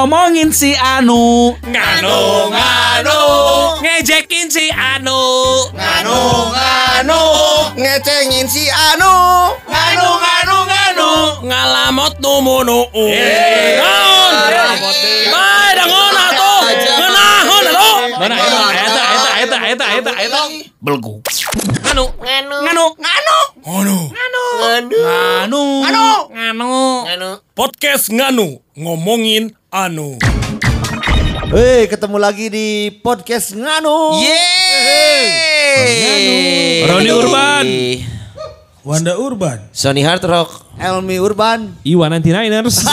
ngomongin si Anu. Nganu, Ngejekin si Anu. nganu, ngecengin si Anu, nganu, Ngalamot numunu. Naon? Bae dangon atuh. Ngeunahun atuh. Mana eta. Belgu. Nganu. Podcast Nganu, ngomongin Anu. Hei, ketemu lagi di podcast Nganu. Yeay. Roni Urban. Wanda Urban. Sony Hard Rock. Elmi Urban. Iwan 99ers.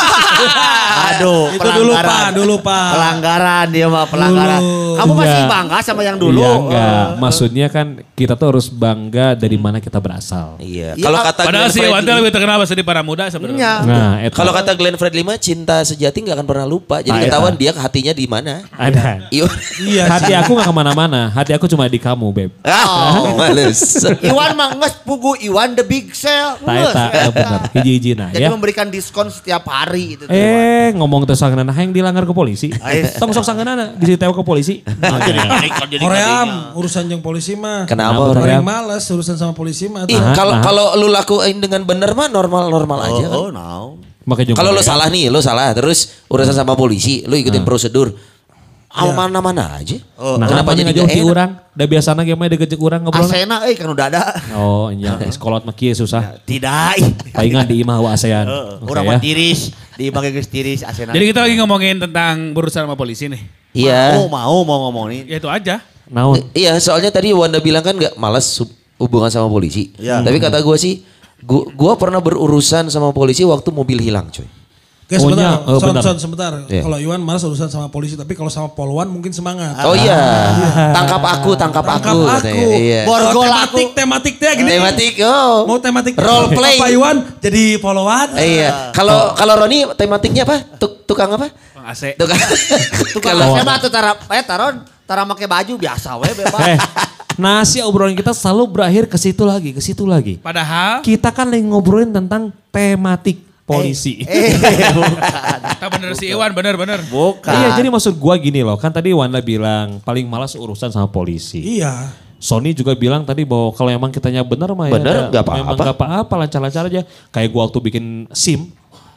Aduh, Itu dulu Pak. Pelanggaran dia mah pelanggaran. Dulu. Kamu masih Enggak. bangga sama yang dulu? Iya enggak. Maksudnya kan kita tuh harus bangga dari mana kita berasal. Iya. Iya, Kalau kata Padahal Glenn si Iwan Fredly, lebih terkenal di para muda sebenarnya. Iya. Nah, eta. kalau kata Glenn Fredly mah cinta sejati nggak akan pernah lupa. Jadi Nah, ketahuan eta. dia hatinya di mana. Ada. Iya. Hati aku gak kemana-mana. Hati aku cuma di kamu, Beb. Oh, males. Iwan mah nges pugu Iwan the big sale. Tak eta, bener. Hiji-hiji nah Jadi ya. memberikan diskon setiap hari itu. Ngomong teh sangeunana yang dilanggar ke polisi. Tong sok sangeunana disitewa ke polisi. Hoream urusan jeung polisi mah. Kenapa? Kenapa, Paling Hoream? males urusan sama polisi mah. Ih, kalau lu lakuin dengan benar mah normal aja kan. Oh, no. Makanya Kalau lu salah nih, lu salah terus urusan sama polisi, lu ikutin prosedur. Mana-mana aja. Nah, Kenapa jadi ngejauh gak ti enak? urang? Da biasana ge mah degejek urang ngobrol. Asena kan udah ada. Oh, iya. Sekolot mah kieu susah. Tidak. Palingan di imah wa ASEAN. Orang Oke mah ya. tiris, di bagi geus tiris Asena. Jadi kita lagi ngomongin tentang berurusan sama polisi nih. Iya. mau ngomongin. Ya itu aja. Naon? Iya, soalnya tadi Wanda bilang kan gak malas hubungan sama polisi. Iya. Tapi kata gue sih, gue pernah berurusan sama polisi waktu mobil hilang coy. Oke sebentar, Oh, bentar. sebentar. Iya. Kalau Iwan malas urusan sama polisi, tapi kalau sama Polwan mungkin semangat. Oh iya, tangkap aku katanya. Iya. Borgol aku. Tematiknya gini. Tematik, oh. Mau tematik Role play. Pak Iwan jadi Polwan. Iya. Kalau Roni tematiknya apa? Tukang apa? Bang AC. Tukang. Tukang Asena tuh tara make baju biasa we bebas. Nah si obrolan kita selalu berakhir ke situ lagi. Padahal Kita kan lagi ngobrolin tentang tematik polisi. Bukan. kita bener si Iwan bener. Bukan. Iya jadi maksud gua gini loh, kan tadi Wanda bilang paling malas urusan sama polisi. Iya. Sony juga bilang tadi bahwa kalau emang kitanya benar mah Bener, nggak apa-apa. Memang nggak apa-apa, lancar-lancar aja. Kayak gua waktu bikin SIM,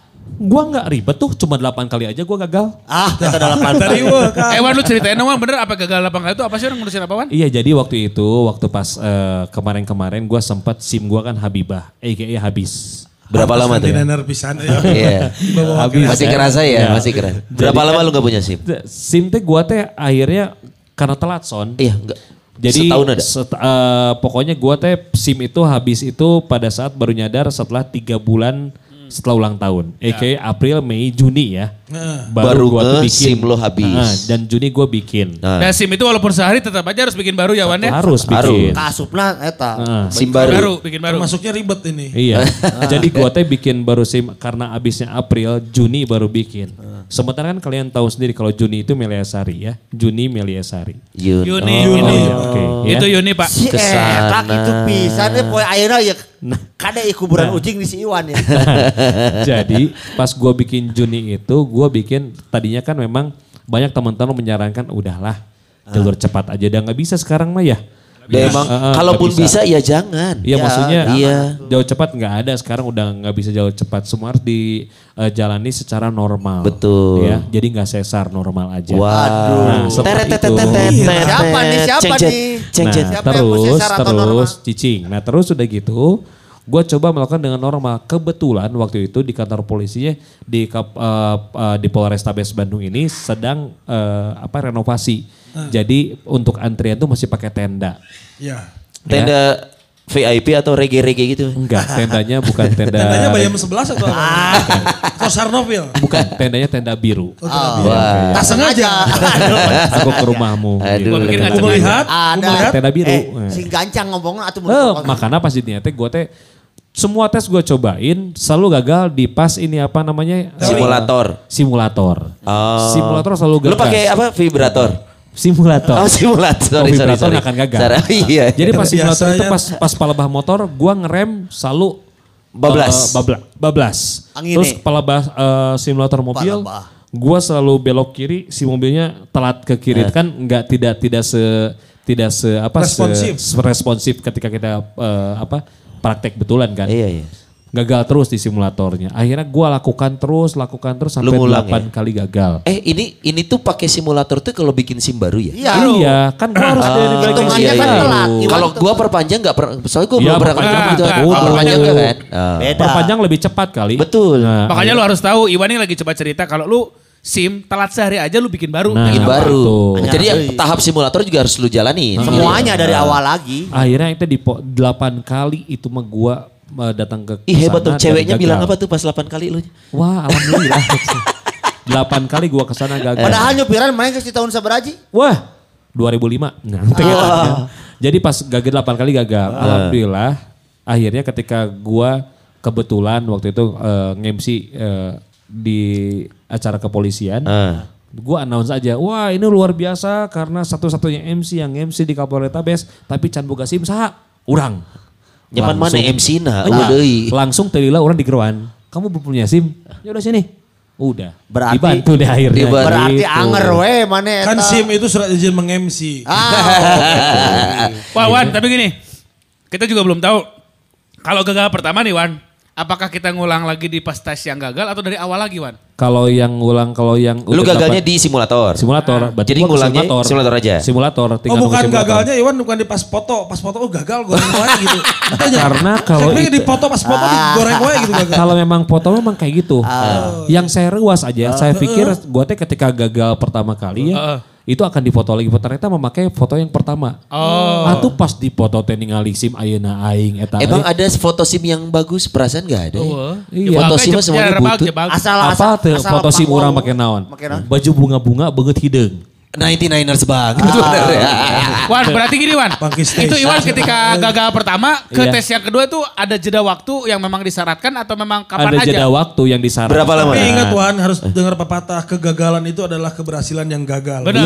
gua nggak ribet tuh, cuma 8 kali aja gua gagal. Kita dalam Dari Iwan kan. Wan lu ceritain dong Wan, bener apa gagal 8 kali itu apa sih orang ngurusin apa Wan? Iya jadi waktu pas kemarin-kemarin gua sempat SIM gua kan Habibah, aka habis. Berapa lama tuh? Dinner pisan. Ya. Iya. Habis. Masih kerasa ya, Ya. masih keras. Berapa lama lu gak punya SIM? SIM teh gua teh akhirnya karena telat son. Iya, enggak. Jadi Setahun ada? Pokoknya gua teh SIM itu habis itu pada saat baru nyadar setelah 3 bulan setelah ulang tahun. Aka April, Mei, Juni ya. Baru gua tuh SIM lo habis. Dan Juni gua bikin. Nah, Dan SIM itu walaupun sehari tetap aja harus bikin baru ya Wan ya? Harus bikin. kasupna eta. SIM baru. Bikin baru. Masuknya ribet ini. Iya. Jadi gua teh bikin baru SIM karena abisnya April, Juni baru bikin. Sementara kan kalian tahu sendiri kalau Juni itu Meliasari ya. Juni Meliasari. Yuni. Oke. Ya. Itu Yuni Pak. Si eta itu pisan deh poe ayeuna ya kada kuburan Nah. ucing di si Iwan ya. Jadi pas gue bikin Juni itu, gue bikin tadinya kan memang banyak teman-teman menyarankan udahlah jalur cepat aja, udah nggak bisa sekarang mah ya. Dan emang kalaupun nggak bisa ya jangan. Iya maksudnya Iya. jauh cepat nggak ada sekarang udah nggak bisa jauh cepat, semua harus dijalani secara normal. Betul. Ya, jadi nggak sesar, normal aja. Waduh. Nah, seperti itu. Siapa nih? Cengcet. Nah, Siapa yang mau sesar atau normal? cicing. Nah terus udah gitu, gue coba melakukan dengan normal. Kebetulan waktu itu di kantor polisinya di Polrestabes Bandung ini sedang renovasi. Jadi untuk antrian tuh masih pakai tenda. Iya. Tenda VIP atau reggae-reggae gitu? Enggak, tendanya bukan tenda. Tendanya Bayam 11 atau apa? Atau Sarnoville? Bukan, tendanya tenda biru. Wah. Tak sengaja. Aku ke rumahmu. Aduh. Gua pikir Aku melihat. Ada. Tenda biru. Si gancang ngomongnya atuh Makanya pas di teh gue teh semua tes gue cobain selalu gagal di pas ini apa namanya simulator. Oh. Simulator selalu gagal. Lu pakai apa? Vibrator? Simulator. Oh simulator. Oh, vibrator nggak akan gagal. Iya. Jadi pas simulator itu Biasanya- pas palebah motor gue ngerem selalu Bablas. bablas. Angin Terus nih. simulator mobil Palebah. Gua selalu belok kiri, si mobilnya telat ke kiri kan tidak responsif ketika kita praktek betulan kan. Iya. Gagal terus di simulatornya. Akhirnya gua lakukan terus sampai 8 kali gagal. Ini tuh pakai simulator tuh kalau bikin SIM baru ya? Iya, kan gua harus dari hitungannya kan telat. Kalau gua perpanjang enggak soalnya gua belum pernah perpanjang gitu. betul. Perpanjang enggak kan? Beda. Perpanjang lebih cepat kali. Betul. Nah, Makanya lu harus tahu, Iwan ini lagi coba cerita kalau lu SIM telat sehari aja lu bikin baru. Nah, Bikin Apa? baru. Tuh. Jadi tahap simulator juga harus lu jalani. Semuanya dari awal lagi. akhirnya itu 8 kali itu mah gua datang ke Ih hebat tuh, kesana dan ceweknya gagal. bilang apa tuh pas 8 kali lu? Wah, alhamdulillah. 8 kali gua kesana gagal. Padahal nyupiran main ke tahun sabaraji. Wah, 2005. Nah, jadi pas gagal 8 kali gagal. Alhamdulillah. Akhirnya ketika gua kebetulan waktu itu nge-MC di acara kepolisian. Gua announce aja, wah ini luar biasa karena satu-satunya MC yang MC di Kapolretabes tapi can boga SIM saha? Urang. Nyaman mana Langsung. MC na? Iya, Deui. langsung telila orang di keruan. Kamu belum punya SIM? Ya udah sini. Udah. Berarti- dibantu deh akhirnya. Dibantu. Berarti Gitu. anger we mana eta. Kan SIM itu surat izin meng-MC. Wah Wan, tapi gini, kita juga belum tahu kalau gagal pertama nih Wan, apakah kita ngulang lagi di pas tes yang gagal atau dari awal lagi Wan? Kalau yang Lu udah gagalnya dapat- di simulator. simulator. Berarti Jadi gua ke ngulangnya simulator aja? Simulator. Oh tinggal nunggu bukan simulator. gagalnya Iwan bukan di pas foto. Pas foto gagal goreng wae gitu. Karena kalau Saya itu- di foto pas foto digoreng wae gitu gagal. Kalau memang foto memang kayak gitu. Yang saya ruas aja, saya pikir gua teh ketika gagal pertama kali ya, itu akan difoto lagi. Ternyata memakai foto yang pertama. Atau pas difoto teh ningali SIM ayeuna aing eta. Emang ada foto SIM yang bagus? Perasaan gak ada ya? Iya. Foto SIM mah semuanya butut. Asal apa tuh foto SIM orang pakai naon? Baju bunga-bunga beungeut hideung. 99ers banget. Bener ya. Wan, berarti gini Wan, Bangkit stage. itu Iwan ketika gagal pertama ke Iya. tes yang kedua itu ada jeda waktu yang memang disyaratkan atau memang kapan Ada aja? jeda waktu yang disarankan. Berapa lama? Tapi ingat Wan harus dengar pepatah kegagalan itu adalah keberhasilan yang gagal. Benar.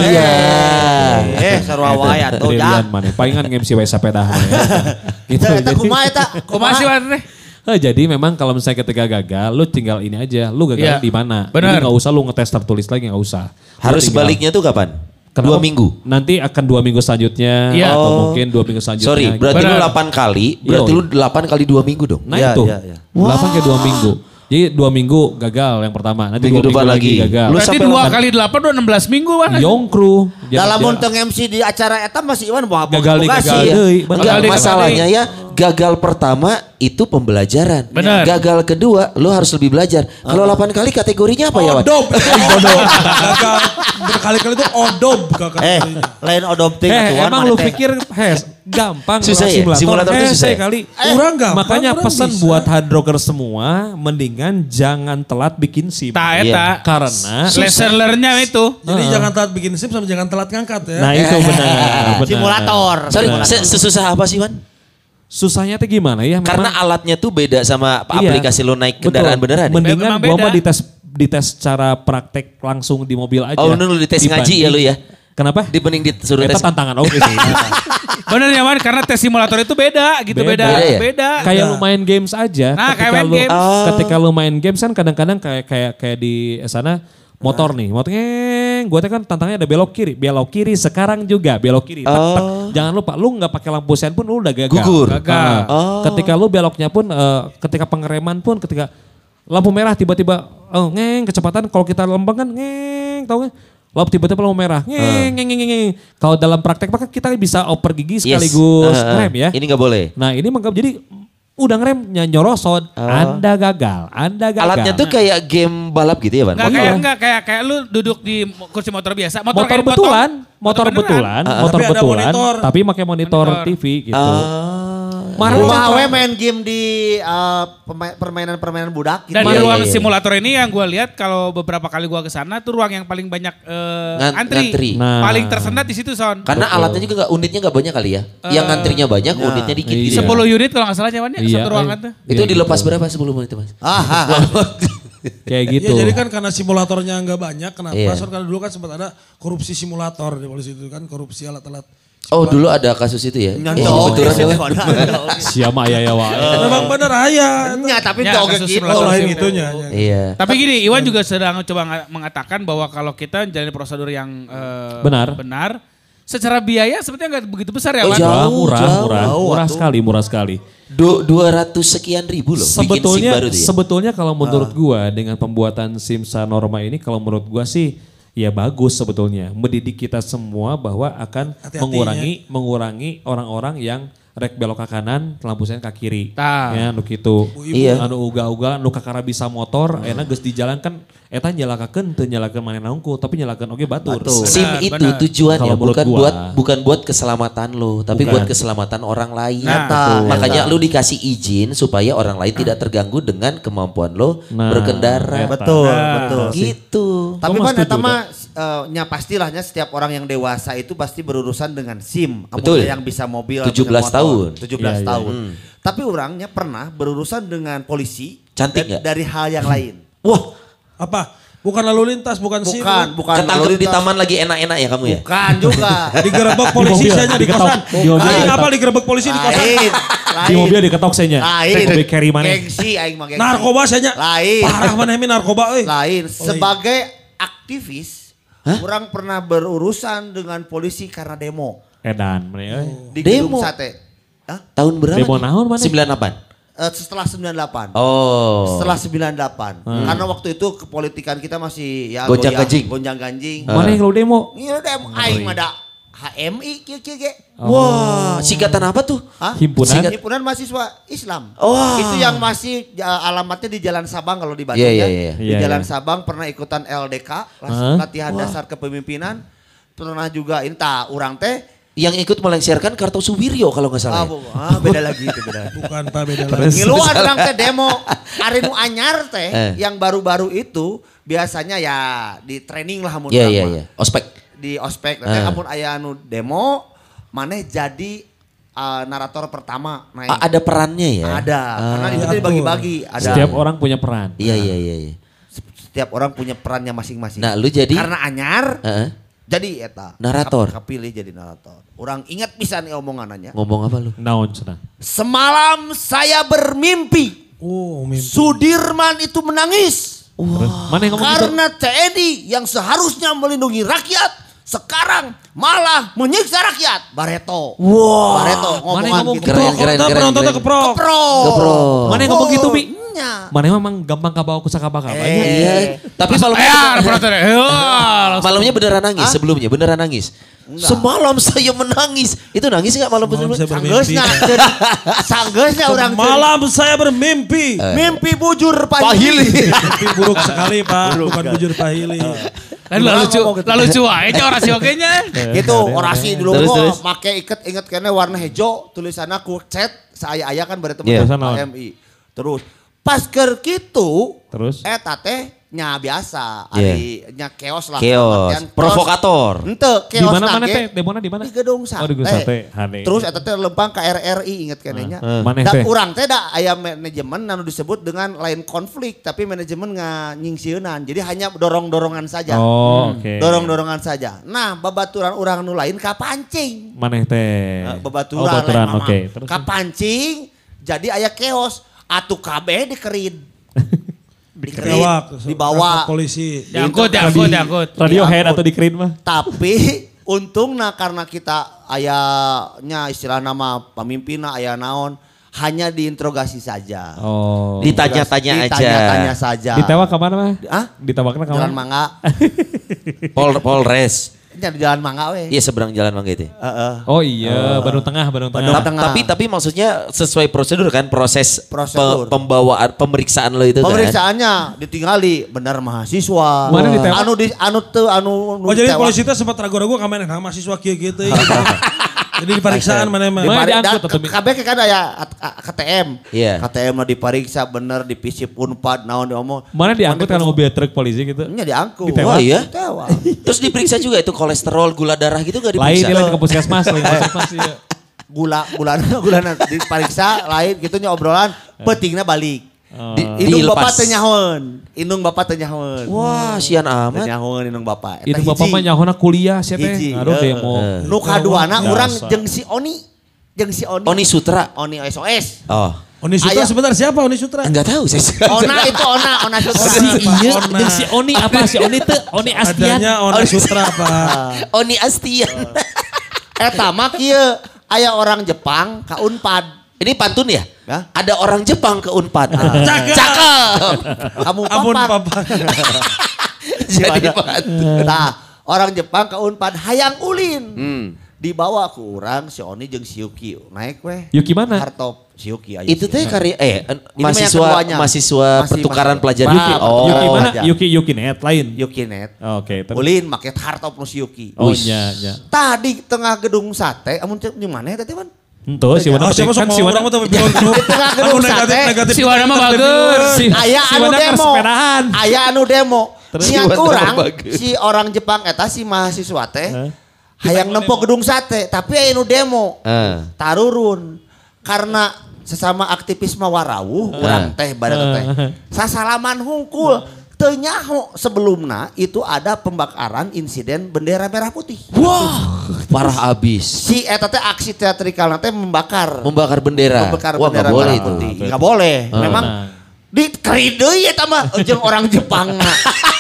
sarua wae atuh Brilian ja. mana? Palingan nge-MC wae sapeda. Gitu. Eta kumaha eta? Kumaha sih Wan? Jadi memang kalau misalnya ketika gagal, lu tinggal ini aja, lu gagal Iya. di mana. Benar. Jadi nggak usah lu ngetes tertulis lagi, nggak usah. Lu Harus tinggal- baliknya tuh kapan? Kenapa? 2 minggu. Nanti akan 2 minggu selanjutnya Iya. atau mungkin 2 minggu selanjutnya. Sorry, berarti lu Benar. 8 kali, berarti Iya. lu 8 kali 2 minggu dong. Nah Iya, itu, iya, iya. 8 ke 2 minggu. Jadi 2 minggu gagal yang pertama, nanti 2 Minggu minggu depan lagi lagi. gagal. Lu Berarti sampai 2 delapan- kali 8 udah 16 minggu Wan. Yongkru. Dalam munteng MC di acara eta masih Iwan bawa Gagal di gagal ya. deui. Enggak, Gagal masalahnya ya gagal pertama itu pembelajaran. Benar. Gagal kedua lu harus lebih belajar. Kalau 8 kali kategorinya apa ya, Wan? Odob. Gagal berkali-kali itu odob kategorinya. Lain adopting atuan Emang mana lu teh. pikir gampang Susah ya? Simulator itu susah ya? kali. Kurang gampang, Makanya kurang pesan bisa. buat hard rocker semua, mendingan jangan telat bikin SIM. Ta Iya. eta. Karena Learnernya itu. Jadi jangan telat bikin SIM sama jangan telat ngangkat ya. nah itu benar. Simulator. Sorry, Simulator. sesusah apa sih, Wan? Susahnya tuh gimana ya? Karena Memang- alatnya tuh beda sama Iya. aplikasi lu naik kendaraan Betul. beneran. ya? Mendingan Memang gua beda. mah dites cara praktek langsung di mobil aja. Oh, lu dites ngaji ya lu ya? Kenapa? Dibanding disuruh Eta tes. tantangan oke sih. Bener ya Wan, karena tes simulator itu beda gitu, Beda. beda. Beda ya? Beda. Kayak lu main games aja. Nah, kayak main lu, games. Ketika lu main games kan kadang-kadang kayak di sana motor nih, motor gue kan tantangannya ada belok kiri sekarang juga belok kiri. Tak, tak. Jangan lupa, lu nggak pakai lampu sen pun lu udah gagal. Gugur. Gagal. Ketika lu beloknya pun, ketika pengereman pun, ketika lampu merah tiba-tiba, kecepatan kalau kita lempeng kan tau gak? Lalu tiba-tiba lampu merah, Kalau dalam praktek maka kita bisa oper gigi sekaligus ngerem ya. Ini nggak boleh. Nah ini jadi udah ngerem nyorosot, Anda gagal. Alatnya tuh kayak game balap gitu ya, Wan? Enggak kayak lu duduk di kursi motor biasa. motor kayak betulan, motor beneran. betulan, motor Tapi ada betulan, monitor. tapi pakai monitor TV gitu. Rumah we main game di permainan-permainan budak gitu. Dan di Iya, ruang iya, iya. simulator ini yang gue lihat kalau beberapa kali gue kesana tuh ruang yang paling banyak antri. ngantri. Nah. Paling tersendat di situ Son. Karena alatnya juga unitnya nggak banyak kali ya. Yang ngantrinya banyak, unitnya dikit Iya. gitu. 10 unit kalau nggak salah nyawannya Iya, satu ruangan tuh. Itu Iya, dilepas berapa 10 menit, Mas? Kayak gitu. Ya jadi kan karena simulatornya nggak banyak, kenapa? Iya. Soalnya karena dulu kan sempat ada korupsi simulator di polisi itu kan, korupsi alat-alat Oh dulu ada kasus itu ya? Nyontok. Betulan ya. Siapa ayah ya wae. Memang bener aya. Nya tapi Ya, oge kasus gitu. Oh lain itunya. Iya. Tapi gini, Iwan juga sedang coba mengatakan bahwa kalau kita menjalani prosedur yang benar, secara biaya sebetulnya nggak begitu besar ya, Oh, Wan? jauh. Murah sekali. 200 sekian ribu loh bikin SIM baru tuh ya. Sebetulnya kalau menurut gua dengan pembuatan SIM Sanorma ini kalau menurut gua sih ya bagus sebetulnya. Mendidik kita semua bahwa akan mengurangi orang-orang yang rek belok ke kanan, lampu sen ke kiri. Ya, nu kitu. Iya. Anu uga-uga nu kakara bisa motor, enak geus di jalan kan eta nyalakakeun teu nyalakeun manehna unggul, tapi nyalakeun oge batur. SIM Benar, itu benar. tujuannya Kalau menurut bukan gua. buat keselamatan lo, tapi Bukan. buat keselamatan orang lain. Nah, betul. Makanya lu dikasih izin supaya orang lain tidak terganggu dengan kemampuan lo Nah, berkendara. Betul, Nah. betul. Gitu. Tapi Gua mah kan setuju eta mah nya pastilahnya setiap orang yang dewasa itu pasti berurusan dengan SIM. Betul. Yang bisa mobil, 17 bisa motor. tahun. 17 Iya, iya. tahun. Tapi orangnya pernah berurusan dengan polisi. Cantik dan- nggak? Dari hal yang lain. Wah, Apa? Bukan lalu lintas, bukan SIM. Bukan. ketangkep di lalu lintas. taman lagi enak-enak ya kamu ya? Bukan juga. Digerebek polisi saja di kosan. Di mobil Aing diketok. apa digerebek polisi di kosan? Lain. Di mobil diketok senya. Lain. Mobil carry maneh. Gengsi aing mah gengsi. Narkoba saja. Lain. Parah mana ini narkoba euy. Lain. Sebagai aktivis, orang pernah berurusan dengan polisi karena demo Edan maneh euy. di Demo? gedung sate. Hah? Tahun berapa? Demo nih? naon mana? 98. Setelah 98. Oh. Setelah 98. Karena waktu itu kepolitikan kita masih ya Gonjang-ganjing. Gonjang-ganjing. Mana yang lu demo? Iya demo aing mah da HMI kieu ge. Wah, singkatan apa tuh? Hah? Himpunan? Himpunan Mahasiswa Islam. Wah. Itu yang masih alamatnya di Jalan Sabang kalau di Bandung Iya, ya. iya, iya. Di Iya, Jalan iya. Sabang pernah ikutan LDK, Hah? latihan dasar kepemimpinan. Pernah juga inta urang teh Yang ikut melengsarkan Kartosuwiryo kalau nggak salah. ya? beda lagi itu beda. Bukan Pak, beda lagi. Ngiluan orang teh demo. Ari nu anyar teh yang baru-baru itu biasanya ya di training lah mun Iya, urang iya, mah. iya. Ospek. Di ospek teh amun aya nu demo maneh jadi narator pertama naik. Ada perannya ya? Ada. Karena itu teh dibagi-bagi. Ada. Setiap orang punya peran. Iya, iya, iya. iya. Setiap orang punya perannya masing-masing. Nah, lu jadi Karena anyar Heeh. jadi eta Narator. Kapilih jadi narator. Orang ingat pisan omongannya. Ngomong apa lu? Naon cenah? Semalam saya bermimpi Oh, mimpi. Sudirman itu menangis. Terus, mana yang ngomong gitu? Karena TNI yang seharusnya melindungi rakyat sekarang malah menyiksa rakyat. Bareto. Wah. Bareto Mana yang ngomongan ngomong gitu. gitu? Keren, keren, Kita keren. penontonnya keren. keprok. Keprok. Keprok. Mana yang ngomong gitu, Bi? Nya. Mana memang gampang kabawa ku sakabaka. Iya. Tapi malamnya Ya, penonton. malamnya beneran nangis sebelumnya, beneran nangis. Semalam saya menangis. Itu nangis nggak malam Malam sebelumnya? saya bermimpi. Sanggeusnya. Sanggeusnya orang Malam saya bermimpi. mimpi bujur Pahili. Mimpi buruk sekali Pak, bukan bujur pahili. Kan lalu cuai aja orasi oke-nya. Gitu orasi dulu Terus, kok terus. make inget kene warna hijau tulisannya ku cet saya kan bari Iya. temen HMI. Terus pas keur kitu Terus? eta teh nya biasa Iya. ari nya keos lah. Keos. Artian Provokator. Henteu Di keos mana mana nage teh? Demona di mana? di gedung sate. Oh, di gedung sate. Hane. Terus eta teh lempang ka RRI inget kene nya. Maneh Da teh? urang teh da aya manajemen anu disebut dengan lain konflik tapi manajemen nyingsieunan. Jadi hanya dorong-dorongan saja. Oh, oke. Dorong-dorongan saja. Nah, babaturan urang nu lain kapancing. Maneh teh. Babaturan, Oh, baturan, lain, oke. Mama. Terus? Kapancing jadi aya keos. Atuh kabeh dikerin. Dikerin, Kewak, dibawa. polisi. Diangkut. Radiohead atau di Krin mah? Tapi untungna karena kita ayahnya istilah nama pemimpinna aya naon hanya diinterogasi saja. Oh. Ditanya-tanya aja. Ditanya-tanya saja. Ditewak ke mana mah? Hah? Ditewakna ke Jalan mana? Mangga. Polres. Nya di Jalan Mangga we. Iya seberang jalan Mangga itu. Heeh. Oh iya, Bandung Tengah, Bandung Tengah. Bandung Tengah. Tapi maksudnya sesuai prosedur kan proses Prosedur. pembawaan pemeriksaan lo itu kan. Pemeriksaannya ditinggali benar mahasiswa. Mana ditewak? Anu Oh jadi ditewak. polisi teh sempat ragu-ragu ka maneh mahasiswa kieu kieu teh. Jadi diperiksaan mana mah. Mana diangkut Dan atau mi- kabeh kan aya KTM. Iya. KTM mah diperiksa bener dipisip Unpad naon diomong. Mana diangkut kan mobil truk polisi gitu? Nya diangkut. Oh iya? Ditewak. Terus diperiksa juga itu kolesterol, gula darah gitu gak Lain diperiksa? dia lain ke puskesmas, lain ke puskesmas iya. Gula diperiksa lain gitu nya obrolan pentingnya balik. Indung bapak dilepas. teu nyahoeun. Indung bapak teu nyahoeun. Wah, sian Teu amat. nyahoeun indung bapak. Itu bapak mah nyahona kuliah sia teh. Hiji. Ngaruh demo. Nu kaduana Dasar. urang jeung si Oni. Oni Sutra. Oni SOS. Oh. Oni Sutra Aya. sebentar siapa Oni Sutra? Enggak tahu saya. Ona itu Ona Sutra. Si iya Ona. jeung si Oni apa si Oni teh Oni Astian. Adanya Oni Sutra Pak. Oni Astian. Eta mah kieu aya orang Jepang ka Unpad. Ini pantun ya? Ya. Ada orang Jepang ke Unpad. Cakep. Cakep. Kamu Ampun papak. Papa. Jadi pantun. Nah, orang Jepang ke Unpad hayang ulin. Hmm. Dibawa ku urang si Oni jeung si Yuki. Naik weh. Yuki mana? Hartop si Yuki aya. Itu teh karya mah yang keduanya. mahasiswa Masih pertukaran masih. pelajar. Yuki. Oh. Yuki mana? aja. Yuki net lain. Yuki net. Oke, terus. Ulin make hartop nu si Yuki. Oh Wih. nya. Tadi tengah gedung sate, amun cek di mana teh man? Henteu si Wana Oh, siapa kan sok si mau Wana. orang tuh bingung. Di tengah gedung sate. Negatif. Si Wana mah bagus. Aya si anu Wana demo. kesepedahan. Aya anu demo. Terus Siang si Wana urang bagus. si orang Jepang eta si mahasiswa teh hayang nempo gedung sate, tapi aya anu demo. Tarurun karena sesama aktivis mah warawuh urang teh bareng teh. Sasalaman hungkul. Teu nyaho sebelumna itu ada pembakaran insiden bendera merah putih. Wah, parah abis. Si eta teh aksi teatrikal teh membakar Bendera. membakar Wah, bendera nggak boleh merah itu. putih. Nggak boleh. Memang dikerid deui eta mah jeung orang Jepang mah.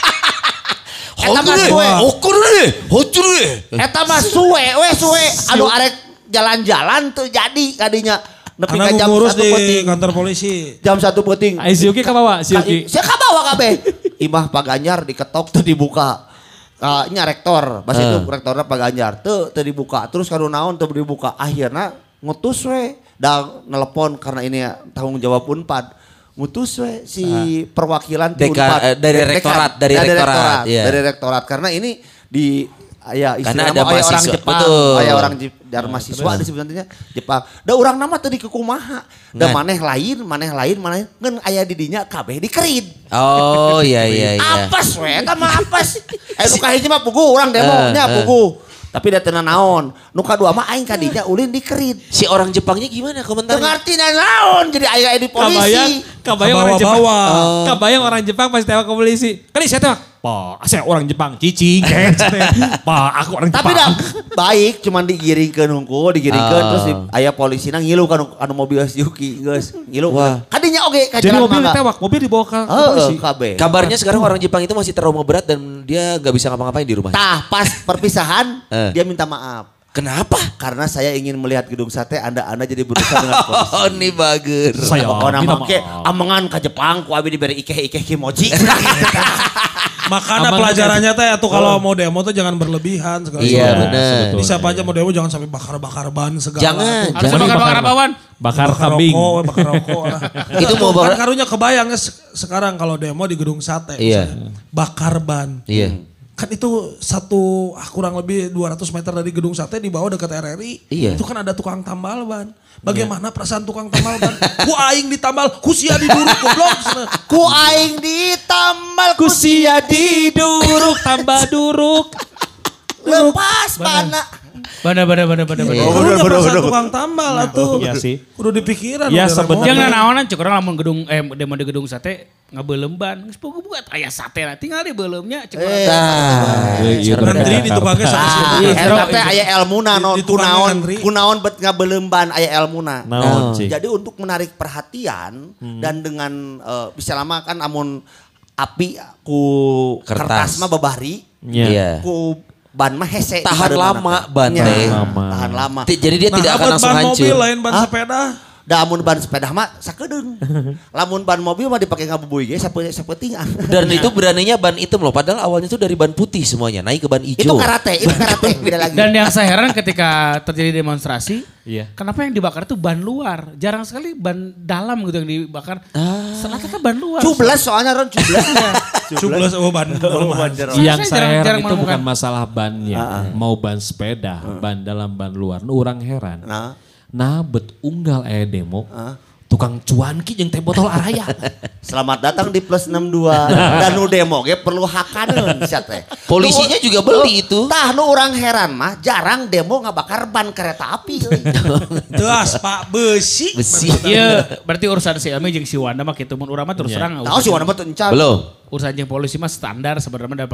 Eta mah suwe. Okur deh, hocur deh. Eta mah suwe suwe. Anu arek jalan-jalan tuh jadi kadinya nepi ka Karena jam ngurus 1 di peuting. kantor polisi. Jam 1 peuting. Ai si Yuki ka bawa si Yuki. Saya kabawa kabeh. Imah Pak Ganjar diketok tuh dibuka. Nya rektor, pas itu rektornya Pak Ganjar tuh dibuka. Terus kanu naon tuh dibuka. Akhirnya ngutus we. Da nelepon karena ini tanggung jawab Unpad. Ngutus we si perwakilan Deka- Unpad. dari Dekan. rektorat, dari rektorat, iya. Dari rektorat karena ini di aya Karena istilah ada mah aya orang mahasiswa, Jepang, betul. aya orang dari mahasiswa disebutnya Jepang. Da urang nama teu dikukumaha. Da Ngan. maneh lain ngan aya di dinya kabeh dikerid. Oh iya. Apes we eta mah apes. Nu kahiji mah pugu urang demonya pugu. Tapi da teu naon. Nu kadua mah aing ka dinya ulin dikerid. Si orang Jepangnya gimana Teu komentarnya? ngarti naon jadi aya di polisi. Kabayang orang Jepang. Bawa-bawa. Kabayang orang Jepang pas tewak ke polisi. Kali saya tewak. Pak, saya orang Jepang. Cicing. Pak, aku orang Jepang. Tapi dah baik cuman digiringkeun hungkul, terus aya polisina ngilu kan anu mobil si Yuki geus. Ngilu. Wah. Kadinya oge ka Jadi jalan mobil mangga. ditewak, mobil dibawa ke Heeh, polisi. kabeh. Kabarnya sekarang orang Jepang itu masih trauma berat dan dia nggak bisa ngapa-ngapain di rumah. Tah pas perpisahan dia minta maaf. Kenapa? Karena saya ingin melihat gedung sate, Anda jadi berusaha dengan polisi. Oh, ini bagus. Saya Pokoknya minta make maaf. amengan ke Jepang, ku abi diberi ikeh-ikeh kimochi. Makanya Aman pelajarannya teh atuh kalau mau demo tuh jangan berlebihan segala Iya, sesuatu. benar. Di siapa aja mau demo jangan sampai bakar-bakar ban segala. Jangan, tuh. Harus jangan. bakar-bakar apa, Wan? Bakar Bakar kambing. rokok, bakar rokok lah. Itu mau Kan bakar- karunya kebayang ya sekarang kalau demo di gedung sate. Iya. misalnya. Bakar ban. Iya. Kan itu kurang lebih 200 meter dari gedung sate di bawah dekat RRI. Iya. Itu kan ada tukang tambal ban. Bagaimana perasaan tukang tambal ban? Ku aing ditambal, ku sia diduruk goblok. Ku aing ditambal ku Kusia diduruk tambah duruk. lepas bana. Bada. Kudu perasaan tukang tambal atuh. Iya sih. Kudu dipikiran. Ya, udah, sebenarnya- Yang Ramon. nanaonan cek orang lamun gedung demo di gedung sate ngabeulem ban. Geus pugu buat aya sate na tinggal di beuleumnya cek urang. Iya, Menteri di tukangnya sama situ. Eta teh aya elmuna non Di tukang antri. kunaon bet ngabeuleuman aya elmuna. Naon, Cik? Jadi untuk menarik perhatian dan dengan bisa lama kan amun api ku kertas Kertas. mah babari, Iya. ku ban mah hese. Tahan di lama bareunana. ban Nya, teh. Tahan lama. Jadi dia tidak akan abad langsung ban hancur. mobil lain ban sepeda. Da amun ban sepeda mah sakedeung. Lamun ban mobil mah dipake ngabubuy ge sapeting. Dan itu beraninya ban hitam loh. Padahal awalnya itu dari ban putih semuanya. Naik ke ban Itu hijau. karate beda lagi. Dan yang saya heran ketika terjadi demonstrasi, Iya. kenapa yang dibakar itu ban luar? Jarang sekali ban dalam gitu yang dibakar. Rata-rata ban luar. Cublas soalnya Ron cublas. Cublas ban. Yang Saya saya heran jarang itu menemukan. bukan masalah bannya. Mau ban sepeda, ban dalam, ban luar. Nu orang heran. Nah bet unggal aya demo. tukang cuanki jeung teh botol araya. Selamat datang di Plus 62. Dan nu demo ge perlu hakaneun sia teh. Polisinya juga beli itu. Tah nu urang heran mah jarang demo ngabakar ban kereta api. Teas Pak besi. Iya, berarti urusan si Ami jeung si Wanda mah kitu mun urang mah terus terang. Tahu si Wanda mah teu encan. Belum. Urusan jeung polisi mah standar sebenarnya dan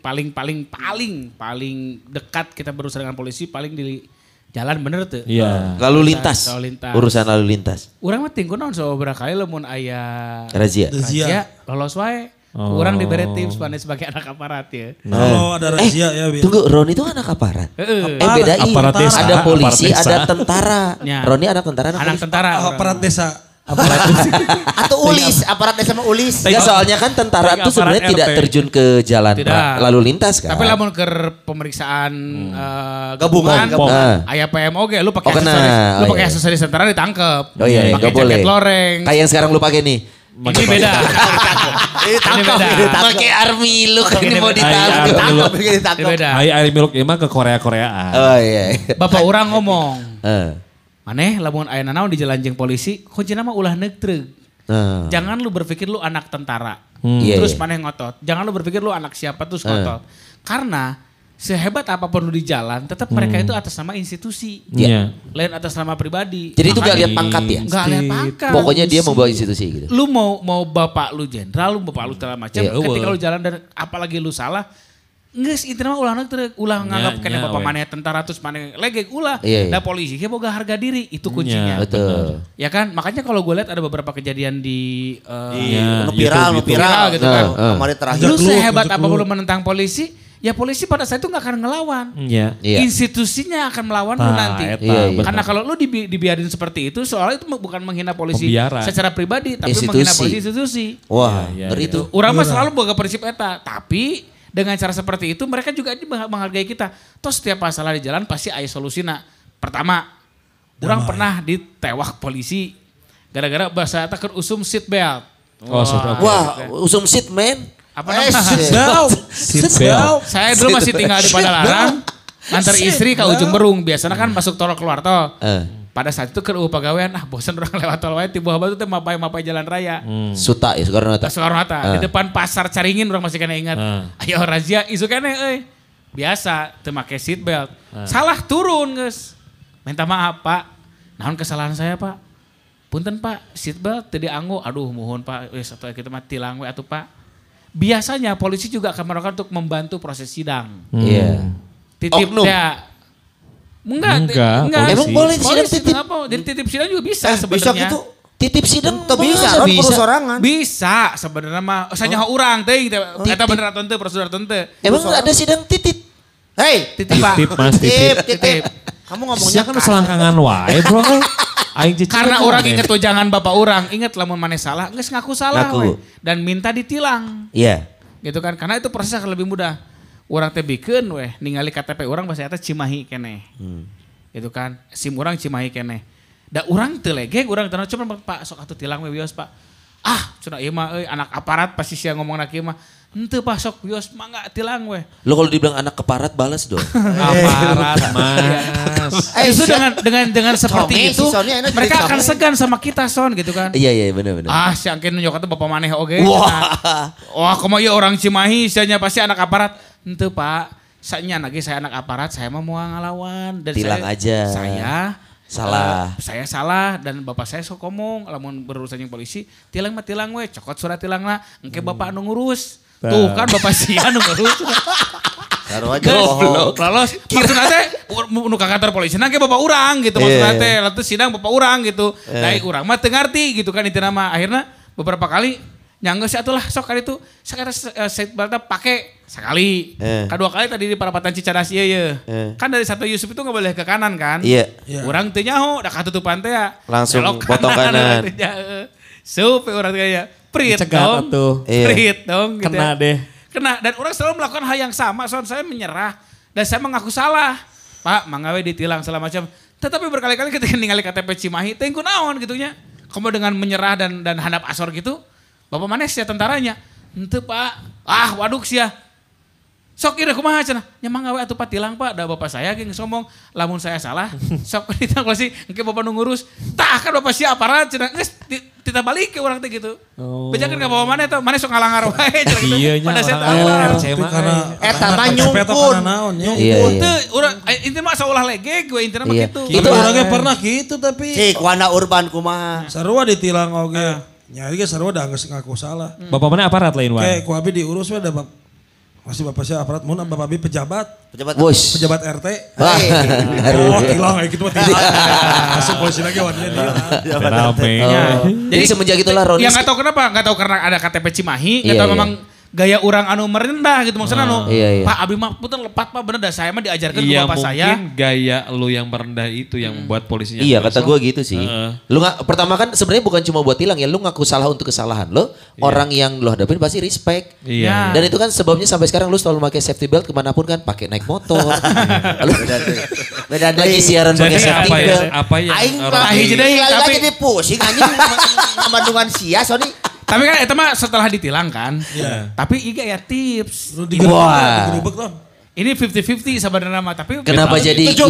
paling dekat kita berurusan dengan polisi paling di jalan bener tuh. Iya. Lalu lintas. Urusan lalu lintas. Urang mah tingku naon beberapa kali lamun aya Razia. lolos wae. Urang diberi tips pane sebagai anak aparat ya. Oh ada razia ya. Tunggu, Roni itu anak aparat. Heeh. Bedain. Aparat desa. Ada polisi, Aparat desa. ada tentara. Ya. Roni anak tentara, Anak tentara. Aparat desa. Atau ulis, aparat desa mah ulis. Enggak, soalnya kan tentara itu sebenarnya aparat tidak RT. terjun ke jalan Tidak. lalu lintas kan. Tapi lamun ke pemeriksaan Gabungan. aya PMOG lu pakai Oh, kena. aksesoris, lu Oh, pakai iya. aksesoris tentara ditangkep. Oh iya, Pakai enggak boleh. jaket loreng. Kayak yang sekarang lu pakai nih. Ini beda. Ini beda. Pakai army look Ini ini mau beda. ditangkap. Tangkap Ini ditangkap. beda. Air miluk emang ke Korea-Koreaan. Oh iya. Bapak orang ngomong, Eh. maneh lamun aya nanaon di jalan jeung polisi, kuncina mah ulah neutreg. Eh. Jangan lu berpikir lu anak tentara. Iya, Terus iya. maneh ngotot. Jangan lu berpikir lu anak siapa terus ngotot. Karena sehebat apapun lu di jalan, tetap mereka itu atas nama institusi. Iya. Lain atas nama pribadi. Jadi itu gak Makanya- lihat pangkat ya? Nggak lihat pangkat. Pokoknya dia membawa institusi gitu. Lu mau bapak lu jenderal, lu bapak lu segala macam. Iya. Ketika lu jalan dan apalagi lu salah, geus intinya mah ulah nganggap kena bapak we. maneh tentara terus maneh legek ulah. Iya, iya. Nah polisi ge boga harga diri, itu kuncinya. Betul. Ya kan? Makanya kalau gue lihat ada beberapa kejadian di Iya, Nu viral, nu YouTube, viral gitu kan. Kemarin terakhir. Lu Jekluk, sehebat jekluk. apapun lu menentang polisi, ya polisi pada saat itu gak akan ngelawan. Iya. Iya. Institusinya akan melawan lu Nah, nanti. eta, Iya, iya. Karena kalau lu dibiarin seperti itu, soalnya itu bukan menghina polisi Pembiaran. secara pribadi, tapi Institusi. menghina polisi institusi. Wah, Iya, iya, ngeri Itu. tuh. Urang mah selalu boga prinsip eta, tapi dengan cara seperti itu mereka juga menghargai kita. Toh setiap masalah di jalan pasti ada solusina. Pertama, orang pernah ditewak polisi gara-gara bahasa eta keur usum seat belt. Oh, sudah. Wah, usum seat man. Apa namanya? Seat belt. Saya dulu masih tinggal di Padalarang, antar istri ke ujung Berung. Biasanya kan masuk tol keluar tol. Pada saat itu keur pagawean, bosan orang lewat tol wae tiba tiba tuh mapai jalan raya. Suta ya, Soekarno-Hatta. Soekarno-Hatta di depan pasar Caringin orang masih kena ingat. Ayo razia isu kene euy. Biasa teu make seat belt. Salah turun geus. Minta maaf Pak. Naon kesalahan saya Pak? Punten Pak, seat belt teu dianggo. Aduh mohon Pak, wis atuh kita mah tilang we atuh Pak. Biasanya polisi juga akan melakukan untuk membantu proses sidang. Iya. Titip Oknum. ya. Enggak. Emang boleh sidang Polisi titip? kenapa? Jadi titip sidang juga bisa Bisa sebenarnya. gitu. Titip sidang Teu bisa, masa Ron, perusorangan. Bisa sebenarnya mah sanyaho urang teh eta bener atau teu prosedur atau teu. Emang ada sidang titip? Hei, Titip Pak. Titip mas, titip. titip. Kamu ngomongnya Sia kan selangkangan wae bro. Aing cicing Karena kan orang aneh. inget tuh jangan bapak orang, inget lamun maneh salah, geus ngaku salah Ngaku. we. Dan minta ditilang. Iya. Gitu kan, karena itu prosesnya akan lebih mudah. Orang teh bikeun weh, ningali KTP orang bahasa eta Cimahi keneh. Gitu kan, SIM orang Cimahi keneh. Da urang teu legek, urang teu cuma Pak sok atuh tilang we wios Pak. Ah, cenah ieu mah euy anak aparat pasti sia ngomongna kieu mah. Henteu Pak sok wios mangga tilang we. Lo kalau dibilang anak keparat balas dong. Aparat Mas. Justru dengan seperti Some, itu si Sonya enak jadi mereka akan some. segan sama kita Son gitu kan. Iya iya benar-benar. Ah, si angkin nunjuk itu bapak maneh oge. Wah. Wah, komo ieu orang Cimahi, sianya pasti anak aparat. Henteu Pak, sanya lagi saya anak aparat, saya mah mau ngalawan dan Tilang saya, aja. Saya Salah. saya salah dan bapak saya sok ngomong lamun berurusan jeung polisi, tilang mah tilang we, cokot surat tilangna, engke bapak anu ngurus. Tuh kan bapak sia anu ngurus. Taruh aja. Goblok. Lolos. Maksudna teh nu ka kantor polisi nang ge bapak urang gitu maksudna teh. Lalu sidang bapak urang gitu. Nah, urang mah teu ngarti gitu kan intina mah. Akhirnya beberapa kali nyanggeus atuh lah sok kali itu sakara seatbeltna pake sekali. Kedua kali tadi di Parapatan Cicadas ieu ye. Kan dari satu Yusuf itu enggak boleh ke kanan kan? Iya. Urang teu nyaho da katutupan teh ya. Langsung Belok potong kanan. Sup urang teh ya. Prit Cegat dong. atuh. Iya. Prit dong gitu. Kena ya. deh. Kena dan orang selalu melakukan hal yang sama. Son saya menyerah dan saya mengaku salah. Pak, manggawe ditilang segala macam. Tetapi berkali-kali ketika ningali KTP Cimahi, tengku naon gitunya. Kamu dengan menyerah dan handap asor gitu, bapak mana sia tentaranya? Henteu Pak. Ah, waduk sia. Sok ira kumaha cenah. Nya mangga we atuh patilang Pak, da bapak saya ge ngomong lamun saya salah. Sok ditang polisi engke bapak nu ngurus. Tah kan bapak sia aparat cenah geus tita balik ke urang teh gitu. Bejakeun ka bawa maneh teh, maneh sok ngalangar wae cenah gitu. Iya nya. Pada saya RC mah. Eta mah nyungkun. Iya. Teu urang inti mah saulah lege gue intina mah Iya. kitu. Itu orangnya pernah gitu tapi. Cik wana urban kumaha. Sarua ditilang oge. Nyari ge sarua da geus ngaku salah. Bapak mana aparat lain Kayak Wan? ku abi diurus we da masih bapak saya aparat mun bapak abi pejabat Bos. pejabat RT. Haru. Oh, hilang kayak gitu mah tidak. Masuk polisi lagi warnanya dia. Rame. Jadi semenjak itulah Roni. Yang nggak tahu kenapa, nggak tahu karena ada KTP Cimahi, nggak Iya, tahu iya. memang gaya orang anu merendah gitu maksudnya anu. Iya, iya. Pak Abi mah puter lepat Pak bener dah saya mah diajarkan ke Iya bapak mungkin saya. gaya lu yang merendah itu yang membuat polisinya. Iya kata kesel. gue gitu sih. Lu nggak pertama kan sebenarnya bukan cuma buat tilang ya, lu ngaku salah untuk kesalahan lo. Orang yang lu hadapin pasti respect. Iya. Dan itu kan sebabnya sampai sekarang lu selalu pakai safety belt kemanapun kan, pakai naik motor. Lu Beda lagi deui. siaran pakai Jadi safety apa ya? belt. Apa yang Aing orang Aing jadi lagi tapi- jadi pusing anjing Bandungan sia Sony. Tapi kan itu mah setelah ditilang kan. Iya. Tapi iga ya tips. Lu Wah. digerubek Ron. Ini 50-50 sebenarnya mah tapi Kenapa jadi 70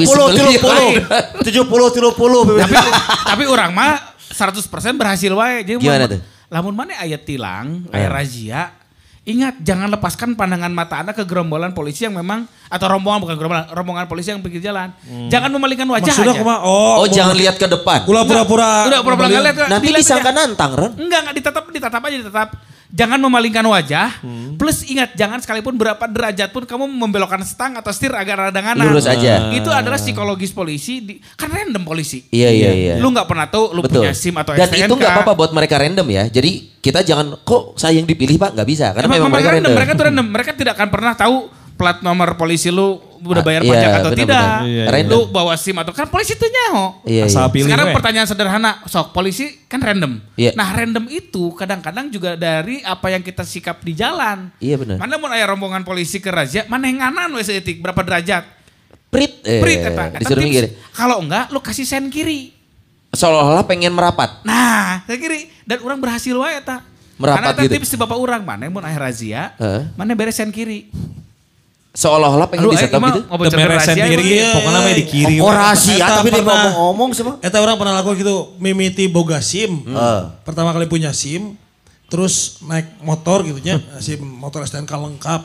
30. tapi orang mah 100% berhasil wae. Jadi Gimana mun- tuh? Lamun mana aya tilang, aya razia, ingat jangan lepaskan pandangan mata Anda ke gerombolan polisi yang memang atau rombongan bukan gerombolan, rombongan polisi yang pinggir jalan. Jangan memalingkan wajah Maksudnya aja. kumaha? Oh jangan lihat ke depan. Ulah pura-pura. Udah pura-pura nggak lihat. Nanti dilihat disangka aja. nantang Ron. Enggak ditatap aja ditatap. Jangan memalingkan wajah. Plus ingat jangan sekalipun berapa derajat pun kamu membelokkan stang atau setir agar ada nganan. Lurus aja. Itu adalah psikologis polisi. Kan random polisi. Iya. Lu nggak pernah tahu lu Betul. punya SIM atau Dan STNK. itu nggak apa-apa buat mereka random ya. Jadi kita jangan kok saya yang dipilih Pak, nggak bisa karena memang mereka random. Mereka tuh random. Mereka tidak akan pernah tahu plat nomor polisi lu udah bayar Iya, pajak atau benar-benar. tidak. Iya, iya. Lu bawa SIM atau kan polisi itu nyaho. Iya, Asal iya. pilih Sekarang we. pertanyaan sederhana, sok polisi kan random. Iya. Nah random itu kadang-kadang juga dari apa yang kita sikap di jalan. Iya benar. Mana mau aya rombongan polisi ke razia, mana yang nganan we seetik berapa derajat? Prit. Prit eta. Eta Disuruh tips. minggir. Kalau enggak lu kasih sen kiri. Seolah-olah pengen merapat. Nah, sen kiri dan orang berhasil wae eta. Merapat Karena eta gitu. tips di bapak orang, mana mun aya razia, mana beres sen kiri. Seolah-olah pengen Aduh, disetop aing mah gitu. ngobrol ke Temeresen razia, diri, emang. pokoknya mah di kiri. Oh rahasia Eta tapi dia pernah. ngomong-ngomong sih mah. Eta orang pernah lakukan gitu, mimiti boga SIM. Pertama kali punya SIM, terus naik motor gitu nya, SIM motor STNK lengkap.